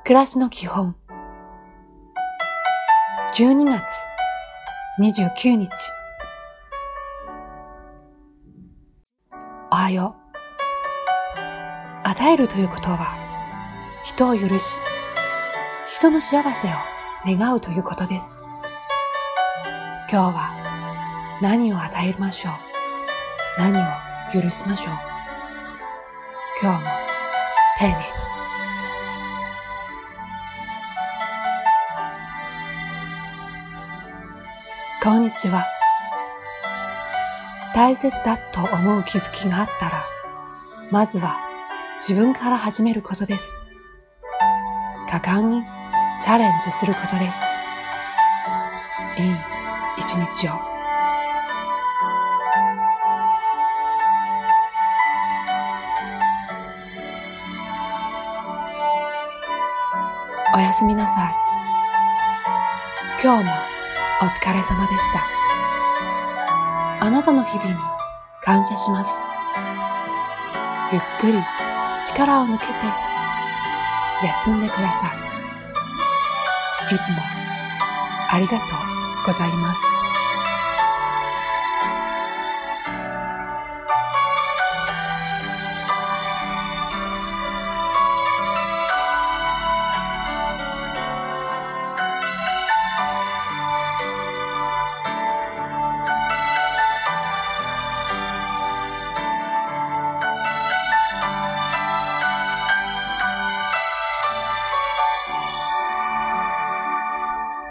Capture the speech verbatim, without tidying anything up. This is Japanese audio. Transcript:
暮らしの基本じゅうにがつにじゅうくにち。おはよう。与えるということは人を許し、人の幸せを願うということです。今日は何を与えましょう。何を許しましょう。今日も丁寧に。こんにちは。大切だと思う気づきがあったら、まずは自分から始めることです。果敢にチャレンジすることです。いい一日を。おやすみなさい。今日もお疲れ様でした。あなたの日々に感謝します。ゆっくり力を抜けて休んでください。いつもありがとうございます。